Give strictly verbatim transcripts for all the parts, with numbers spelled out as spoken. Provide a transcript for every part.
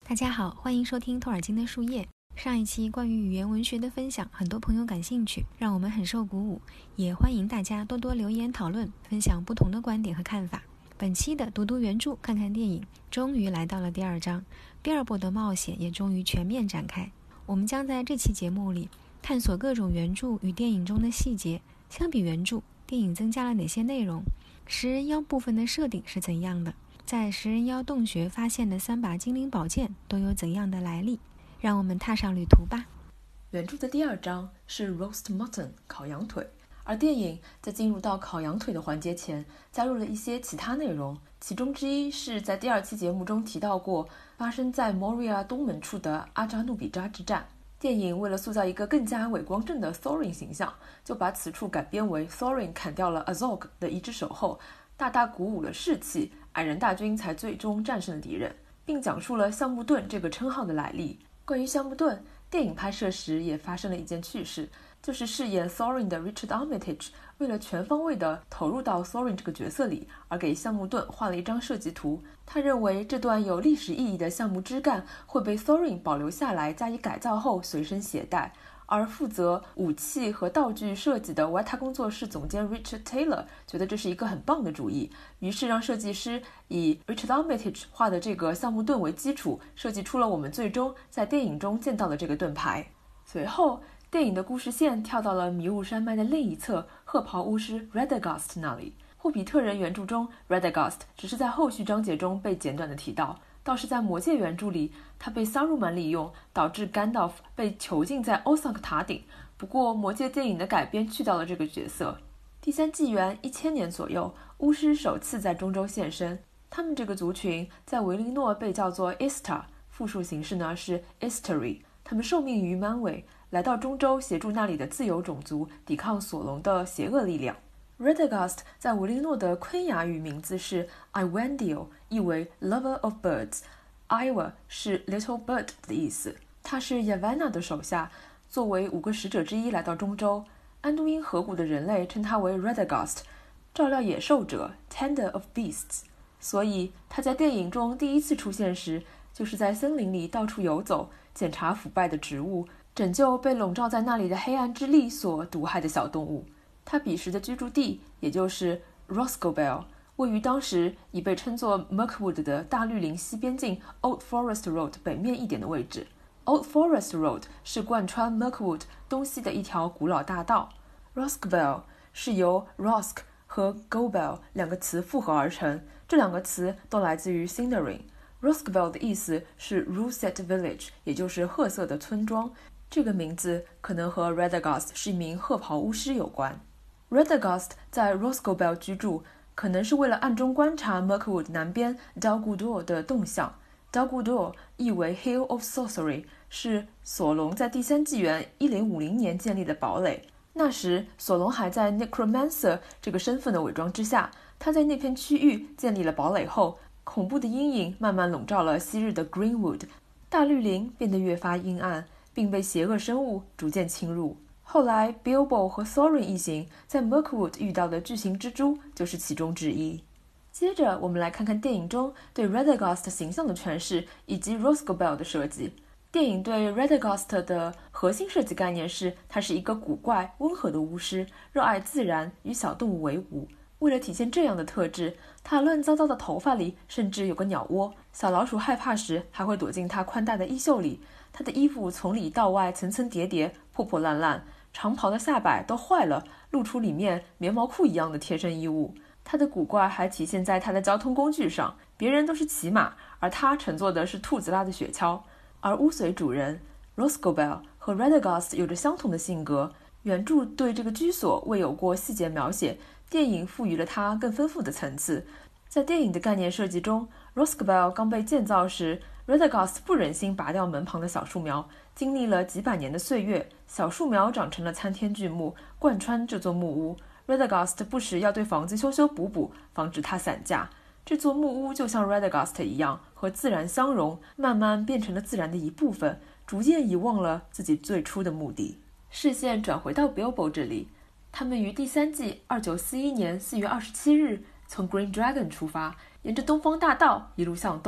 大家好，欢迎收听托尔金的树叶。上一期关于语言文学的分享，很多朋友感兴趣，让我们很受鼓舞，也欢迎大家多多留言讨论，分享不同的观点和看法。本期的读读原著看看电影终于来到了第二章，比尔博的冒险也终于全面展开。我们将在这期节目里探索各种原著与电影中的细节，相比原著，电影增加了哪些内容，食人妖部分的设定是怎样的，在食人妖洞穴发现的三把精灵宝剑都有怎样的来历。让我们踏上旅途吧。 原著的第二章是 roast mutton 烤羊腿，而电影在进入到烤羊腿的环节前加入了一些其他内容，其中之一是在第二期节目中提到过发生在 Moria 东门处的阿扎努比扎之战。电影为了塑造一个更加伟光正的 Thorin 形象，就把此处改编为 Thorin 砍掉了 Azog 的一只手后，大大鼓舞了士气，矮人大军才最终战胜了敌人，并讲述了橡木盾这个称号的来历。关于橡木盾，电影拍摄时也发生了一件趣事，就是饰演 Thorin 的 Richard Armitage 为了全方位地投入到 Thorin 这个角色里，而给橡木盾画了一张设计图。他认为这段有历史意义的橡木枝干会被 Thorin 保留下来，加以改造后随身携带。而负责武器和道具设计的 Weta 工作室总监 Richard Taylor 觉得这是一个很棒的主意，于是让设计师以 Richard Armitage 画的这个橡木盾为基础，设计出了我们最终在电影中见到的这个盾牌。随后，电影的故事线跳到了迷雾山脉的另一侧，褐袍巫师 Radagast 那里。霍比特人原著中 Radagast 只是在后续章节中被简短的提到，倒是在魔戒原著里，他被萨鲁曼利用，导致甘道夫被囚禁在欧桑克塔顶。不过魔戒电影的改编去掉了这个角色。第三纪元一千年左右，巫师首次在中州现身，他们这个族群在维林诺被叫做 Istar， 复数形式呢是 Istari。他们受命于曼韦，来到中州协助那里的自由种族抵抗索隆的邪恶力量。Radagast 在维林诺的昆雅语名字是 Iwandio， 意为 Lover of Birds。Iwa 是 Little Bird 的意思。他是 Yavanna 的手下，作为五个使者之一来到中州。安都因河谷的人类称他为 Radagast， 照料野兽者 Tender of Beasts。所以他在电影中第一次出现时，就是在森林里到处游走，检查腐败的植物，拯救被笼罩在那里的黑暗之力所毒害的小动物。他彼时的居住地，也就是 Roscoebel， 位于当时已被称作 Mirkwood 的大绿林西边境 Old Forest Road 北面一点的位置。Old Forest Road 是贯穿 Mirkwood 东西的一条古老大道。Roscoebel 是由 Rosk 和 Gobel 两个词复合而成，这两个词都来自于 Sindarin。Roscoebel 的意思是 Russet Village， 也就是褐色的村庄。这个名字可能和 Radagast 是一名褐袍巫师有关。Radagast 在 Roscoebel 居住，可能是为了暗中观察 Mirkwood 南边 Dal Guldur 的动向。Dal Guldur 意为 Hill of Sorcery， 是索隆在第三纪元一零五零年建立的堡垒。那时索隆还在 Necromancer 这个身份的伪装之下，他在那片区域建立了堡垒后，恐怖的阴影慢慢笼罩了昔日的 Greenwood， 大绿林变得越发阴暗，并被邪恶生物逐渐侵入。后来 Bilbo 和 Thorin 一行在 Mirkwood 遇到的巨型蜘蛛就是其中之一。接着我们来看看电影中对 Radagast 形象的诠释以及 Roscoebel 的设计。电影对 Radagast 的核心设计概念是，他是一个古怪温和的巫师，热爱自然，与小动物为伍。为了体现这样的特质，他乱糟糟的头发里甚至有个鸟窝，小老鼠害怕时还会躲进他宽大的衣袖里。他的衣服从里到外层层叠叠，破破烂烂，长袍的下摆都坏了，露出里面棉毛裤一样的贴身衣物。他的古怪还体现在他的交通工具上，别人都是骑马，而他乘坐的是兔子拉的雪橇。而巫随主人 Roscoebel 和 Radagast 有着相同的性格，原著对这个居所未有过细节描写，电影赋予了它更丰富的层次。在电影的概念设计中， Roscoebel 刚被建造时， Radagast 不忍心拔掉门旁的小树苗，经历了几百年的岁月，小树苗长成了参天巨木，贯穿这座木屋。 Radagast 不时要对房子修修补补，防止它散架。这座木屋就像 Radagast 一样，和自然相融，慢慢变成了自然的一部分，逐渐遗忘了自己最初的目的。视线转回到 Bilbo 这里，他们于第三季二九四一年四月二十七日从 Green Dragon 出发，沿着东方大道一路向东，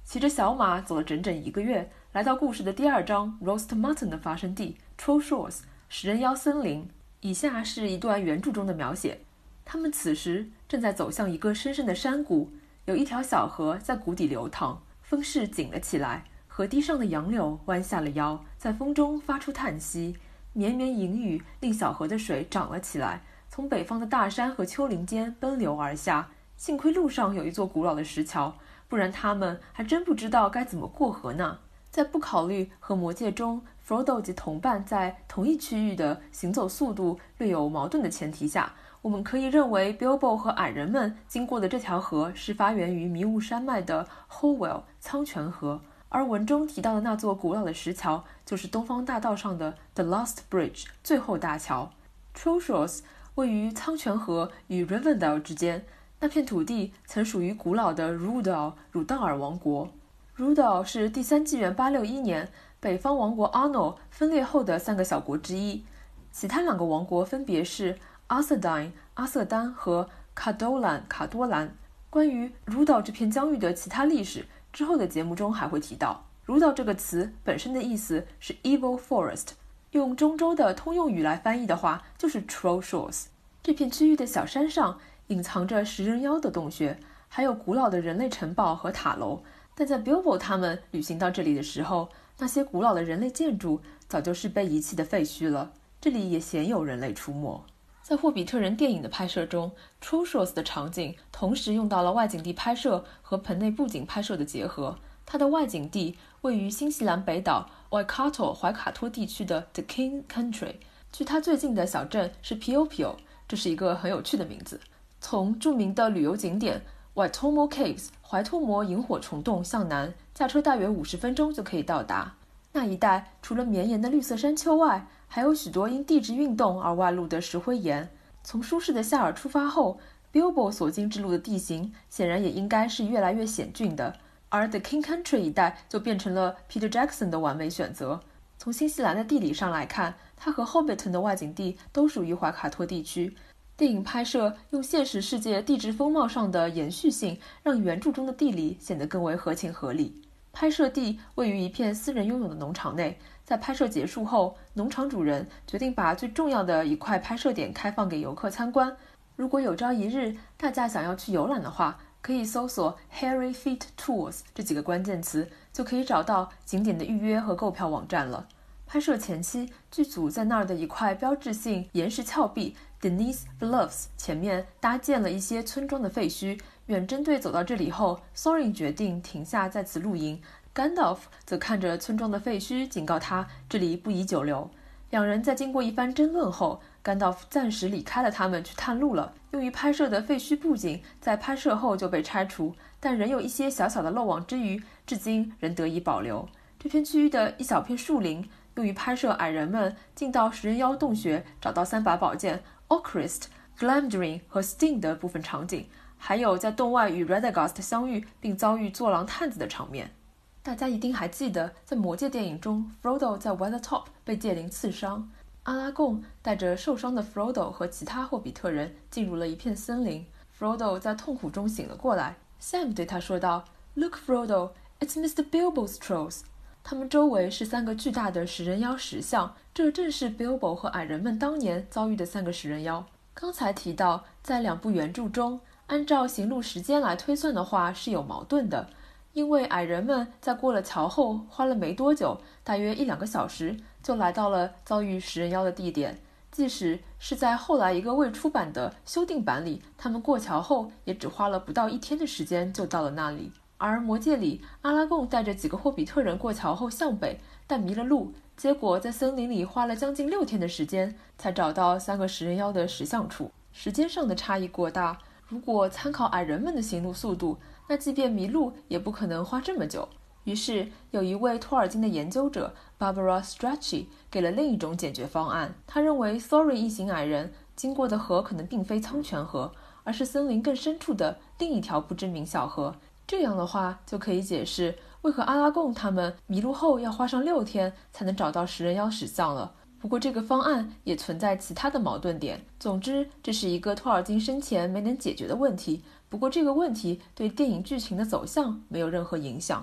骑着小马走了整整一个月，来到故事的第二章 Roast Mutton 的发生地 Troll Shores 食人妖森林。以下是一段原著中的描写。他们此时正在走向一个深深的山谷，有一条小河在谷底流淌，风势紧了起来，河堤上的杨柳弯下了腰，在风中发出叹息。绵绵淫雨令小河的水涨了起来，从北方的大山和丘陵间奔流而下。幸亏路上有一座古老的石桥，不然他们还真不知道该怎么过河呢。在不考虑和魔戒中 Frodo 及同伴在同一区域的行走速度略有矛盾的前提下，我们可以认为 Bilbo 和矮人们经过的这条河是发源于迷雾山脉的 Howell 苍泉河，而文中提到的那座古老的石桥就是东方大道上的 The Last Bridge 最后大桥。 Troll Shores 位于苍泉河与 Rivendell 之间，那片土地曾属于古老的 Rhudael 鲁道尔王国。 Rhudael 是第三纪元八六一年北方王国 Arnor 分裂后的三个小国之一，其他两个王国分别是 Arthedain 阿瑟丹和 Cardolan 卡多兰。关于 Rhudael 这片疆域的其他历史，之后的节目中还会提到。 Rhudael 这个词本身的意思是 Evil Forest， 用中州的通用语来翻译的话就是 Troll Shores。 这片区域的小山上隐藏着食人妖的洞穴，还有古老的人类城堡和塔楼，但在 Bilbo 他们旅行到这里的时候，那些古老的人类建筑早就是被遗弃的废墟了，这里也鲜有人类出没。在霍比特人电影的拍摄中， Troll Shores 的场景同时用到了外景地拍摄和棚内布景拍摄的结合。它的外景地位于新西兰北岛 Waikato 怀卡托地区的 The King Country， 距它最近的小镇是 Piopio， 这是一个很有趣的名字。从著名的旅游景点 Waitomo Caves 怀托摩萤火虫洞向南，驾车大约五十分钟就可以到达。那一带除了绵延的绿色山丘外，还有许多因地质运动而外露的石灰岩。从舒适的夏尔出发后， Bilbo 所经之路的地形显然也应该是越来越险峻的，而 The King Country 一带就变成了 Peter Jackson 的完美选择。从新西兰的地理上来看，它和 Hobbiton 的外景地都属于怀卡托地区。电影拍摄用现实世界地质风貌上的延续性，让原著中的地理显得更为合情合理。拍摄地位于一片私人拥有的农场内，在拍摄结束后，农场主人决定把最重要的一块拍摄点开放给游客参观。如果有朝一日大家想要去游览的话，可以搜索 Hairy Feet Tours 这几个关键词，就可以找到景点的预约和购票网站了。拍摄前期，剧组在那儿的一块标志性岩石峭壁 Denise Bluffs 前面搭建了一些村庄的废墟。远征队走到这里后， Thorin 决定停下在此露营， Gandalf 则看着村庄的废墟警告他这里不宜久留。两人在经过一番争论后， Gandalf 暂时离开了他们去探路了。用于拍摄的废墟布景在拍摄后就被拆除，但仍有一些小小的漏网之鱼，至今仍得以保留。这片区域的一小片树林用于拍摄矮人们进到食人妖洞穴找到三把宝剑 Orcrist、Glamdring 和 Sting 的部分场景，还有在洞外与 Radagast 相遇并遭遇坐狼探子的场面。大家一定还记得，在魔戒电影中 Frodo 在 Weathertop 被戒灵刺伤，阿拉贡带着受伤的 Frodo 和其他霍比特人进入了一片森林。 Frodo 在痛苦中醒了过来， Sam 对他说道， Look Frodo, it's Mister Bilbo's trolls。 他们周围是三个巨大的食人妖石像，这正是 Bilbo 和矮人们当年遭遇的三个食人妖。刚才提到，在两部原著中，按照行路时间来推算的话是有矛盾的，因为矮人们在过了桥后花了没多久，大约一两个小时就来到了遭遇食人妖的地点。即使是在后来一个未出版的修订版里，他们过桥后也只花了不到一天的时间就到了那里。而魔戒里，阿拉贡带着几个霍比特人过桥后向北，但迷了路，结果在森林里花了将近六天的时间才找到三个食人妖的石像处。时间上的差异过大，如果参考矮人们的行路速度，那即便迷路也不可能花这么久。于是有一位托尔金的研究者 Barbara Strachey 给了另一种解决方案。他认为 Thorin 一行矮人经过的河可能并非苍泉河，而是森林更深处的另一条不知名小河。这样的话就可以解释为何阿拉贡他们迷路后要花上六天才能找到食人妖石像了。不过这个方案也存在其他的矛盾点。总之，这是一个托尔金生前没能解决的问题，不过这个问题对电影剧情的走向没有任何影响。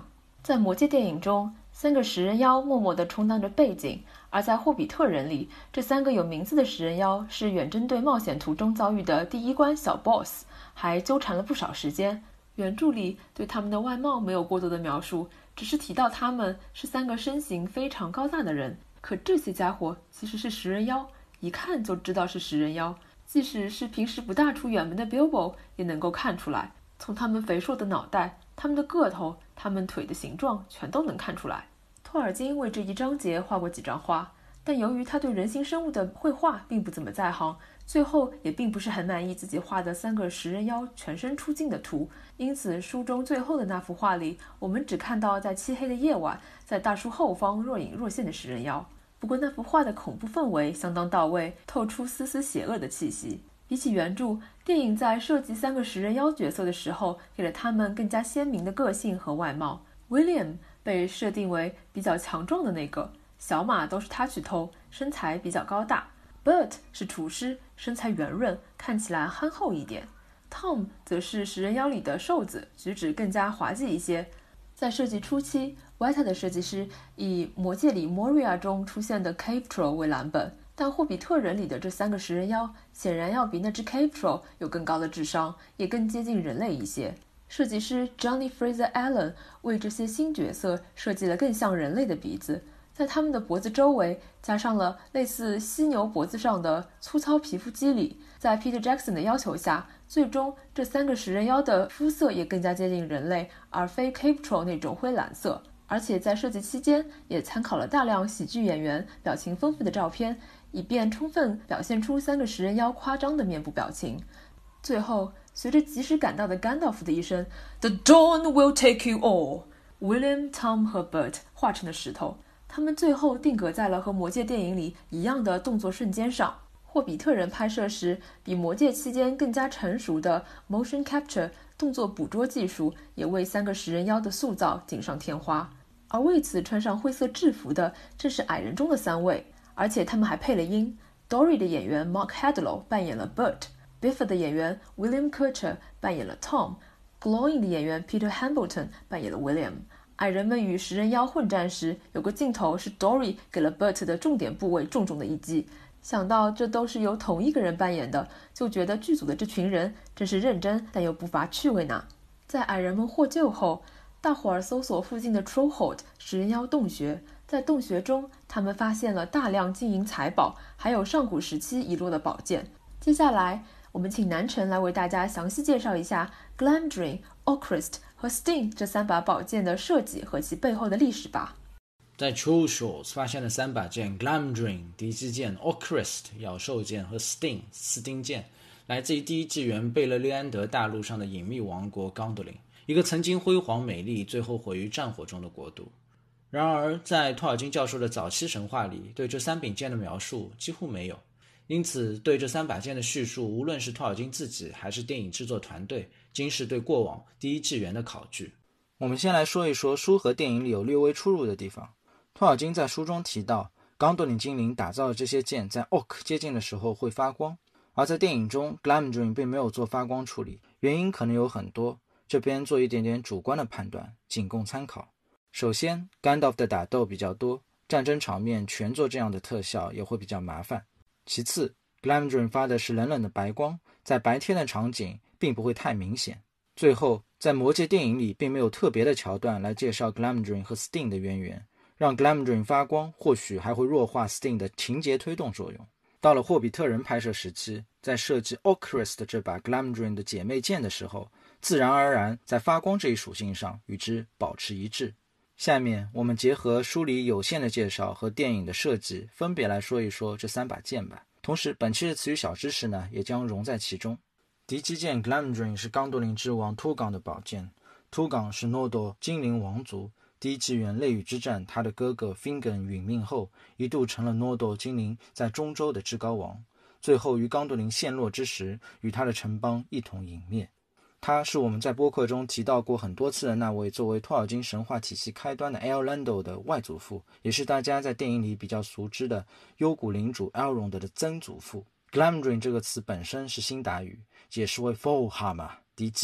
在魔戒电影中，三个食人妖默默地充当着背景，而在霍比特人里，这三个有名字的食人妖是远征队冒险途中遭遇的第一关小 boss， 还纠缠了不少时间。原著里对他们的外貌没有过多的描述，只是提到他们是三个身形非常高大的人。可这些家伙其实是食人妖，一看就知道是食人妖，即使是平时不大出远门的 Bilbo 也能够看出来。从他们肥硕的脑袋、他们的个头、他们腿的形状全都能看出来。托尔金为这一章节画过几张画，但由于他对人形生物的绘画并不怎么在行，最后也并不是很满意自己画的三个食人妖全身出镜的图，因此书中最后的那幅画里，我们只看到在漆黑的夜晚，在大树后方若隐若现的食人妖。不过那幅画的恐怖氛围相当到位，透出丝丝邪恶的气息。比起原著，电影在设计三个食人妖角色的时候，给了他们更加鲜明的个性和外貌。William 被设定为比较强壮的那个，小马都是他去偷，身材比较高大。Bert 是厨师，身材圆润，看起来憨厚一点。Tom 则是食人妖里的瘦子，举止更加滑稽一些。在设计初期， Weta 的设计师以魔戒里 Moria 中出现的 Cave Troll 为蓝本，但霍比特人里的这三个食人妖显然要比那只 Cave Troll 有更高的智商，也更接近人类一些。设计师 Johnny Fraser Allen 为这些新角色设计了更像人类的鼻子，在他们的脖子周围加上了类似犀牛脖子上的粗糙皮肤肌理。在 Peter Jackson 的要求下，最终这三个食人妖的肤色也更加接近人类，而非 Cave Troll 那种灰蓝色。而且在设计期间也参考了大量喜剧演员表情丰富的照片，以便充分表现出三个食人妖夸张的面部表情。最后，随着及时赶到的甘道夫的一声 "The dawn will take you all", William、Tom 和 Bert 化成了石头，他们最后定格在了和魔戒电影里一样的动作瞬间上。霍比特人拍摄时比魔戒期间更加成熟的 motion capture 动作捕捉技术也为三个食人妖的塑造锦上添花。而为此穿上灰色制服的正是矮人中的三位，而且他们还配了音。 Dory 的演员 Mark Hadlow 扮演了 Bert， Biffa 的演员 William Kutcher 扮演了 Tom， Glowing 的演员 Peter Hambleton 扮演了 William。 矮人们与食人妖混战时，有个镜头是 Dory 给了 Bert 的重点部位重重的一击。想到这都是由同一个人扮演的，就觉得剧组的这群人真是认真但又不乏趣味呢。在矮人们获救后，大伙儿搜索附近的 Trollhold 食人妖洞穴，在洞穴中他们发现了大量金银财宝，还有上古时期遗落的宝剑。接下来我们请南辰来为大家详细介绍一下 Glamdring、Oakrest 和 Sting 这三把宝剑的设计和其背后的历史吧。 在 Trollshaws 发现了三把剑 Glamdring 敌基剑、Oakrest 咬兽剑和 Sting 斯丁剑，来自于第一纪元贝勒利安德大陆上的隐秘王国 Gondolin， 一个曾经辉煌美丽最后毁于战火中的国度。然而在托尔金教授的早期神话里，对这三柄剑的描述几乎没有，因此对这三把剑的叙述，无论是托尔金自己还是电影制作团队，均是对过往第一纪元的考据。我们先来说一说书和电影里有略微出入的地方。托尔金在书中提到，冈多林精灵打造的这些剑在 Orc 接近的时候会发光，而在电影中 Glamdring 并没有做发光处理，原因可能有很多，这边做一点点主观的判断，仅供参考。首先 Gandalf 的打斗比较多，战争场面全做这样的特效也会比较麻烦。其次 Glamdring 发的是冷冷的白光，在白天的场景并不会太明显。最后在魔戒电影里并没有特别的桥段来介绍 Glamdring 和 Sting 的渊源，让 Glamdring 发光或许还会弱化 Sting 的情节推动作用。到了霍比特人拍摄时期，在设计 Oakrest 这把 Glamdring 的姐妹剑的时候，自然而然在发光这一属性上与之保持一致。下面我们结合书里有限的介绍和电影的设计，分别来说一说这三把剑吧。同时本期的词语小知识呢，也将融在其中。敌基剑 Glamdring 是冈多林之王秃岗的宝剑，秃岗是诺多精灵王族，第一纪元泪雨之战他的哥哥 Fingon 殒命后，一度成了诺多精灵在中州的至高王，最后于冈多林陷落之时与他的城邦一同殒灭。他是我们在播客中提到过很多次的那位作为托尔金神话体系开端的 Eorlando 的外祖父，也是大家在电影里比较熟知的幽谷领主 Elrond 的曾祖父。Glamdring 这个词本身是辛达语，解释为 Foehammer 敌基，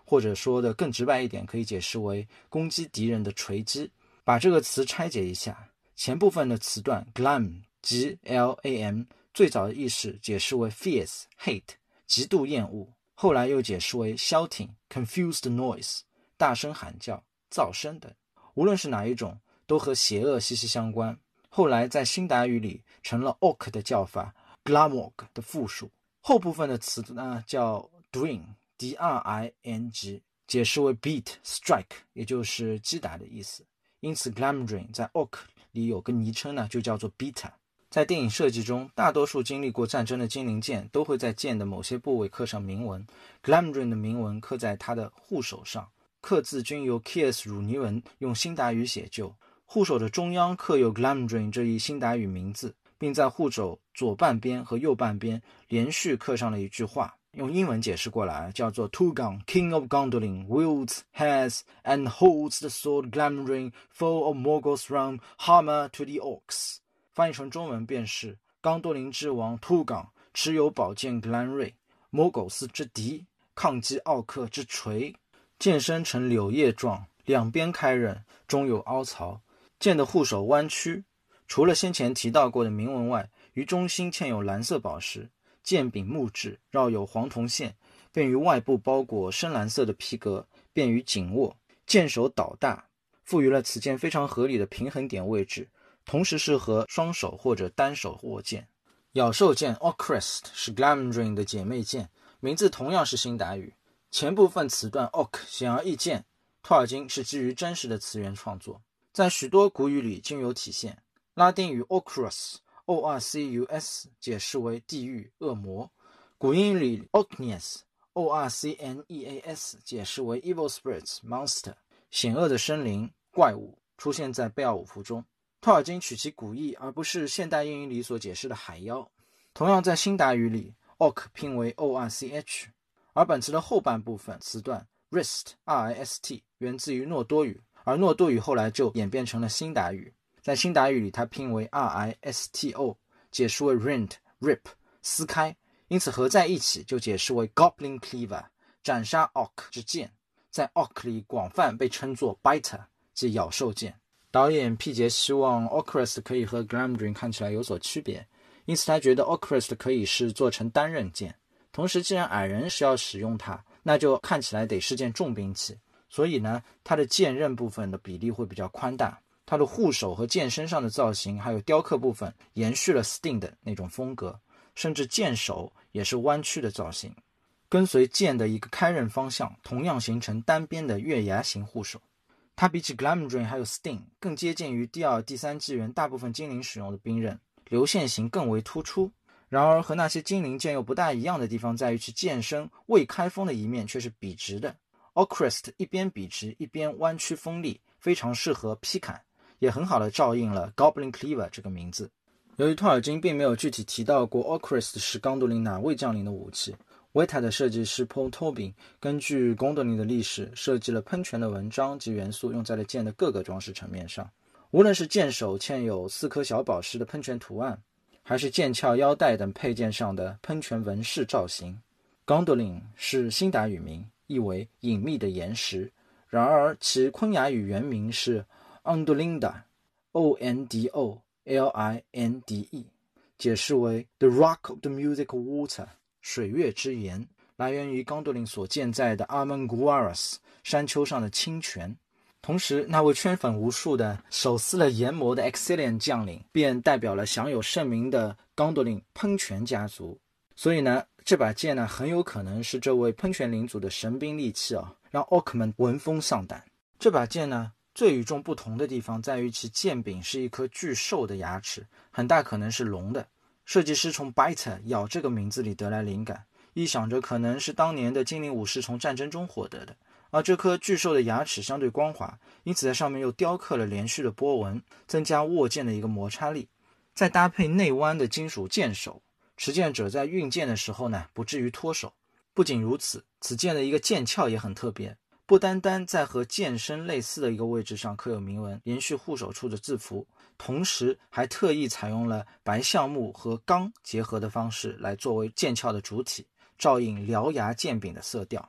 或者说的更直白一点，可以解释为攻击敌人的锤击。把这个词拆解一下，前部分的词段 glam G L A M 最早的意识解释为 fierce hate 极度厌恶，后来又解释为 shouting confused noise 大声喊叫噪声等。无论是哪一种都和邪恶息息相关，后来在新达语里成了 orc 的叫法 glamorg 的复数。后部分的词呢叫 dring D R I N G 解释为 beat strike 也就是击打的意思，因此 Glamdring 在 orc 里有个昵称呢，就叫做 Beater。在电影设计中，大多数经历过战争的精灵剑都会在剑的某些部位刻上铭文。Glamdring 的铭文刻在他的护手上，刻字均由 Kiers 汝尼文用辛达语写就。护手的中央刻有 Glamdring 这一辛达语名字，并在护手左半边和右半边连续刻上了一句话，用英文解释过来叫做 Tugan, King of Gondolin, wields, has, and holds the sword Glamdring, foe of Morgoth's realm, hammer to the orcs。 翻译成中文便是刚多林之王 Tugan 持有宝剑格兰瑞，摩狗斯之敌，抗击奥克之锤，剑身呈柳叶状，两边开刃，中有凹槽，剑的护手弯曲。除了先前提到过的铭文外，于中心嵌有蓝色宝石，剑柄木质，绕有黄铜线，便于外部包裹深蓝色的皮革，便于紧握。剑手倒大，赋予了此剑非常合理的平衡点位置，同时适合双手或者单手握剑。咬兽剑 Orcrist 是 Glamdring 的姐妹剑，名字同样是辛达语。前部分词段 Orc 显而易见，托尔金是基于真实的词源创作，在许多古语里均有体现。拉丁语 Orcus O R C U S 解释为地狱恶魔，古英语里 Orcneas O R C N E A S 解释为 Evil Spirits Monster 险恶的生灵怪物，出现在贝奥武夫中。托尔金取其古意，而不是现代英语里所解释的海妖。同样在辛达语里 Orc 拼为 O R C H， 而本词的后半部分词段 Rist R I S T 源自于诺多语，而诺多语后来就演变成了辛达语。在辛达语里它拼为 R I S T O， 解释为 rend rip 撕开，因此合在一起就解释为 Goblin Cleaver 斩杀 orc 之剑，在 orc 里广泛被称作 biter 即咬兽剑。导演毕节希望 Orcrist 可以和 Glamdring 看起来有所区别，因此他觉得 Orcrist 可以是做成单刃剑，同时既然矮人是要使用它，那就看起来得是件重兵器，所以呢它的剑刃部分的比例会比较宽大，它的护手和剑身上的造型还有雕刻部分延续了 Sting 的那种风格，甚至剑手也是弯曲的造型，跟随剑的一个开刃方向，同样形成单边的月牙形护手。它比起 Glamdring 还有 Sting 更接近于第二、第三纪元大部分精灵使用的兵刃，流线型更为突出。然而和那些精灵剑又不大一样的地方在于其剑身未开锋的一面却是笔直的。 Orcrist 一边笔直一边弯曲锋利，非常适合劈砍，也很好的照应了 Goblin Cleaver 这个名字。由于托尔金并没有具体提到过 Orcrist 是刚多林哪位将领的武器，维塔的设计师 Paul Tobin 根据刚多林的历史设计了喷泉的文章及元素，用在了剑的各个装饰层面上。无论是剑手嵌有四颗小宝石的喷泉图案，还是剑鞘、腰带等配件上的喷泉纹饰造型。刚多林是辛达语名，意为隐秘的岩石，然而其昆雅语原名是 Ondolinda O N D O L I N D E， 解释为 The Rock of the Music Water 水月之岩，来源于刚多林所建在的 Armenguaras 山丘上的清泉。同时那位圈粉无数的手撕了研磨的 Exilian 将领便代表了享有盛名的刚多林喷泉家族，所以呢这把剑呢很有可能是这位喷泉领主的神兵利器啊，让 Orc 们闻风丧胆。这把剑呢最与众不同的地方在于其剑柄是一颗巨兽的牙齿，很大可能是龙的。设计师从 Biter 咬这个名字里得来灵感，臆想着可能是当年的精灵武士从战争中获得的，而这颗巨兽的牙齿相对光滑，因此在上面又雕刻了连续的波纹，增加握剑的一个摩擦力。再搭配内弯的金属剑手，持剑者在运剑的时候呢不至于脱手。不仅如此，此剑的一个剑鞘也很特别，不单单在和剑身类似的一个位置上刻有铭文，连续护手处的字符，同时还特意采用了白橡木和钢结合的方式来作为剑鞘的主体，照应獠牙剑柄的色调。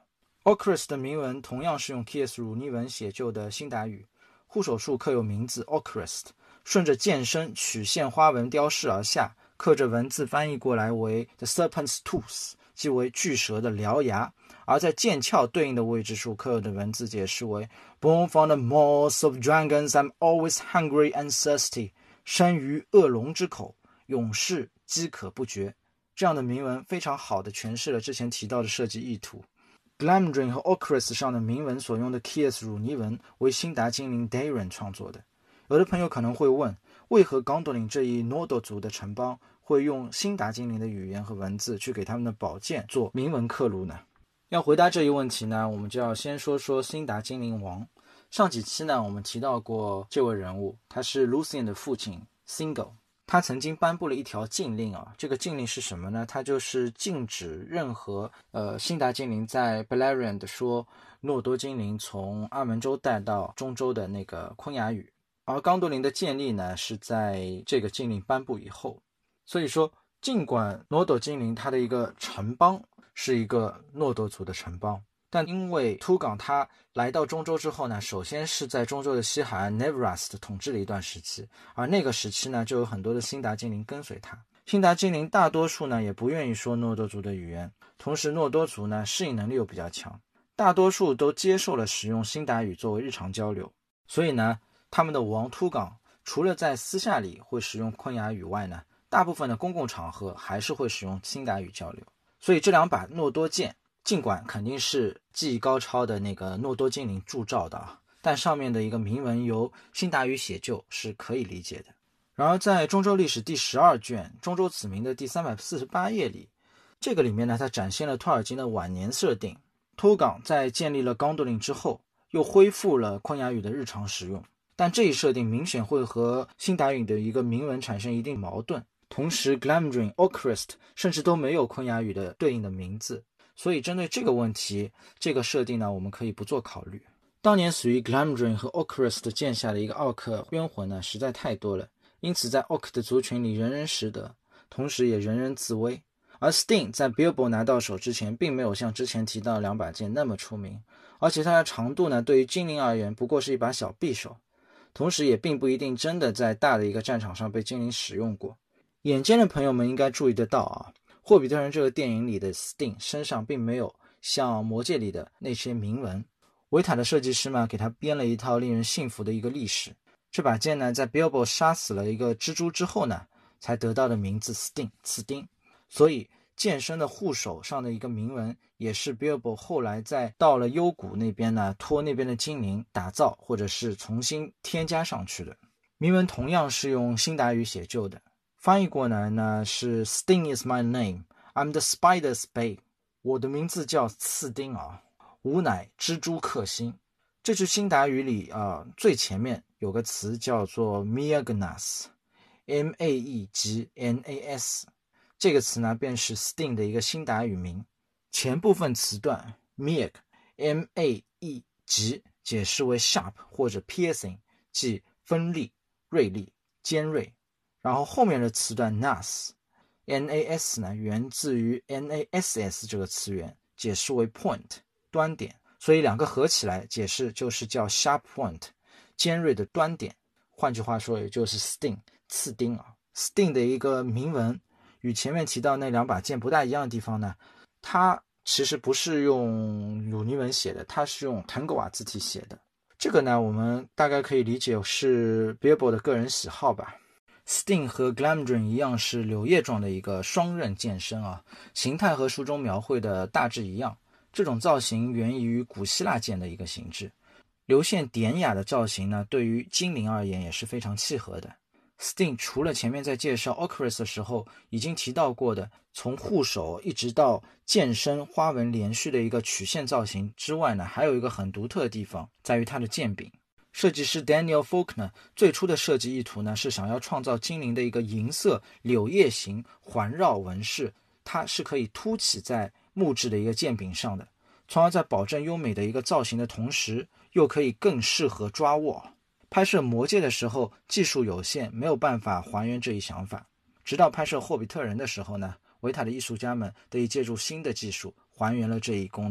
Ocrist 的铭文同样是用 Keys 乳泥文写就的辛达语，护手树刻有名字 Ocrist， 顺着剑身曲线花纹雕饰而下，刻着文字翻译过来为 The Serpent's Tooth， 即为巨蛇的獠牙，而在剑鞘对应的位置处刻有的文字解释为 Born from the mouths of dragons, I'm always hungry and thirsty， 生于恶龙之口，永世饥渴不绝。这样的铭文非常好地诠释了之前提到的设计意图。Glamdring 和 Ocrist 上的铭文所用的 Keys 乳泥文为辛达精灵 Dairen 创作的。有的朋友可能会问，为何 Gondolin 这一诺多族的城邦会用辛达精灵的语言和文字去给他们的宝剑做铭文刻录呢？要回答这一问题呢，我们就要先说说辛达精灵王。上几期呢，我们提到过这位人物，他是 Luthien 的父亲 Singel。他曾经颁布了一条禁令啊，这个禁令是什么呢？他就是禁止任何呃辛达精灵在 Beleriand 说诺多精灵从阿门州带到中州的那个昆雅语，而刚多林的建立呢是在这个禁令颁布以后。所以说，尽管诺多精灵它的一个城邦是一个诺多族的城邦，但因为突港他来到中州之后呢，首先是在中州的西海岸 Nevrast 统治了一段时期，而那个时期呢，就有很多的辛达精灵跟随他。辛达精灵大多数呢也不愿意说诺多族的语言，同时诺多族呢适应能力又比较强，大多数都接受了使用辛达语作为日常交流。所以呢，他们的王突港除了在私下里会使用昆雅语外呢，大部分的公共场合还是会使用辛达语交流。所以这两把诺多剑尽管肯定是技艺高超的那个诺多精灵铸造的啊，但上面的一个铭文由辛达语写就是可以理解的。然而在中州历史第十二卷中州子民的第三百四十八页里，这个里面呢，它展现了托尔金的晚年设定。突港在建立了刚多林之后，又恢复了昆雅语的日常使用，但这一设定明显会和辛达语的一个铭文产生一定矛盾。同时 Glamdring、Ocrist 甚至都没有昆雅语的对应的名字，所以针对这个问题，这个设定呢，我们可以不做考虑。当年死于 Glamdring 和 Ocrist 剑下的一个奥克冤魂呢，实在太多了，因此在 Orc 的族群里人人识得，同时也人人自危。而 Sting 在 Bilbo 拿到手之前，并没有像之前提到的两把剑那么出名，而且它的长度呢，对于精灵而言不过是一把小匕首，同时也并不一定真的在大的一个战场上被精灵使用过。眼尖的朋友们应该注意得到啊，霍比特人这个电影里的 Sting 身上并没有像魔戒里的那些铭文。维塔的设计师嘛，给他编了一套令人信服的一个历史。这把剑呢，在 Bilbo 杀死了一个蜘蛛之后呢，才得到的名字 Sting 刺钉。所以剑身的护手上的一个铭文，也是 Bilbo 后来在到了幽谷那边呢，托那边的精灵打造或者是重新添加上去的。铭文同样是用辛达语写就的。翻译过来呢是 Sting is my name, I'm the spider's bane， 我的名字叫刺钉啊，吾乃蜘蛛克星。这句辛达语里啊、呃，最前面有个词叫做 Meagnas， M A E G N A S， 这个词呢便是 Sting 的一个辛达语名。前部分词段 Meag M A E G 解释为 sharp 或者 piercing， 即锋利、锐利、尖锐。然后后面的词段 nas N A S 呢，源自于 N A S S 这个词源，解释为 point 端点，所以两个合起来解释就是叫 sharp point 尖锐的端点。换句话说，也就是 sting 刺钉啊。Sting 的一个铭文与前面提到那两把剑不大一样的地方呢，它其实不是用鲁尼文写的，它是用腾格瓦字体写的。这个呢，我们大概可以理解是 Bilbo 的个人喜好吧。Sting 和 Glamdring 一样是柳叶状的一个双刃剑身啊，形态和书中描绘的大致一样。这种造型源于古希腊剑的一个形制，流线典雅的造型呢，对于精灵而言也是非常契合的。Sting 除了前面在介绍 Ocrist 的时候已经提到过的从护手一直到剑身花纹连续的一个曲线造型之外呢，还有一个很独特的地方，在于它的剑柄。设计师 Daniel Faulkner 最初的设计意图呢，是想要创造精灵的一个银色柳叶形环绕纹饰，它是可以凸起在木质的一个剑柄上的，从而在保证优美的一个造型的同时，又可以更适合抓握。拍摄魔戒的时候技术有限，没有办法还原这一想法，直到拍摄霍比特人的时候呢，维塔的艺术家们得以借助新的技术还原了这一功能。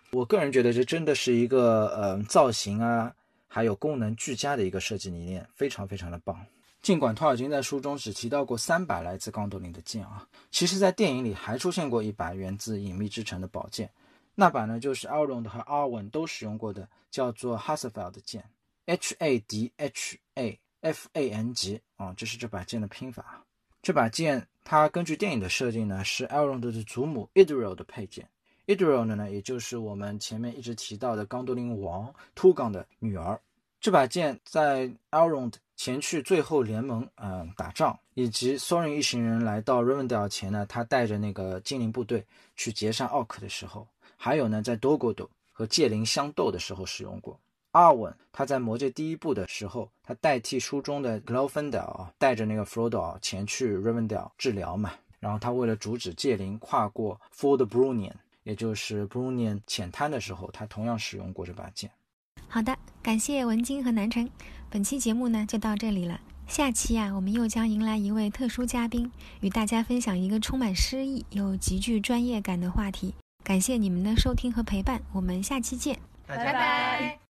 我个人觉得这真的是一个呃造型啊还有功能俱佳的一个设计理念，非常非常的棒。尽管托尔金在书中只提到过三把来自刚铎林的剑啊，其实在电影里还出现过一把源自隐秘之城的宝剑，那把呢就是 Elrond 和 Arwen 都使用过的，叫做 Hasafel 的剑 H A D H A F A N G 啊，这是这把剑的拼法。这把剑它根据电影的设定呢，是 Elrond 的祖母 Idril 的配件。Idril 呢，也就是我们前面一直提到的刚铎林王 Tugon 的女儿。这把剑在 Elrond 前去最后联盟呃打仗，以及 Thorin 一行人来到 Rivendell 前呢，他带着那个精灵部队去截杀奥克的时候，还有呢在 Dol-guldur 和戒灵相斗的时候使用过。阿文他在魔戒第一部的时候，他代替书中的 Glorfindel 带着那个 Frodo 前去 Rivendell 治疗嘛，然后他为了阻止戒灵跨过 Ford Brunion， 也就是 Brunion 浅滩的时候，他同样使用过这把剑。 好的，感谢文晶和南辰，本期节目呢就到这里了。下期啊，我们又将迎来一位特殊嘉宾，与大家分享一个充满诗意又极具专业感的话题。感谢你们的收听和陪伴，我们下期见， 拜拜。